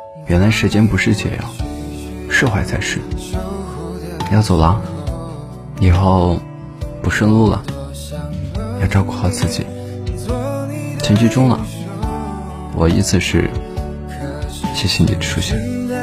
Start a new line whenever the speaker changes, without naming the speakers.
原来时间不是解药，释怀才是。要走了，以后不顺路了，要照顾好自己。请记住了，我意思是谢谢你的出现。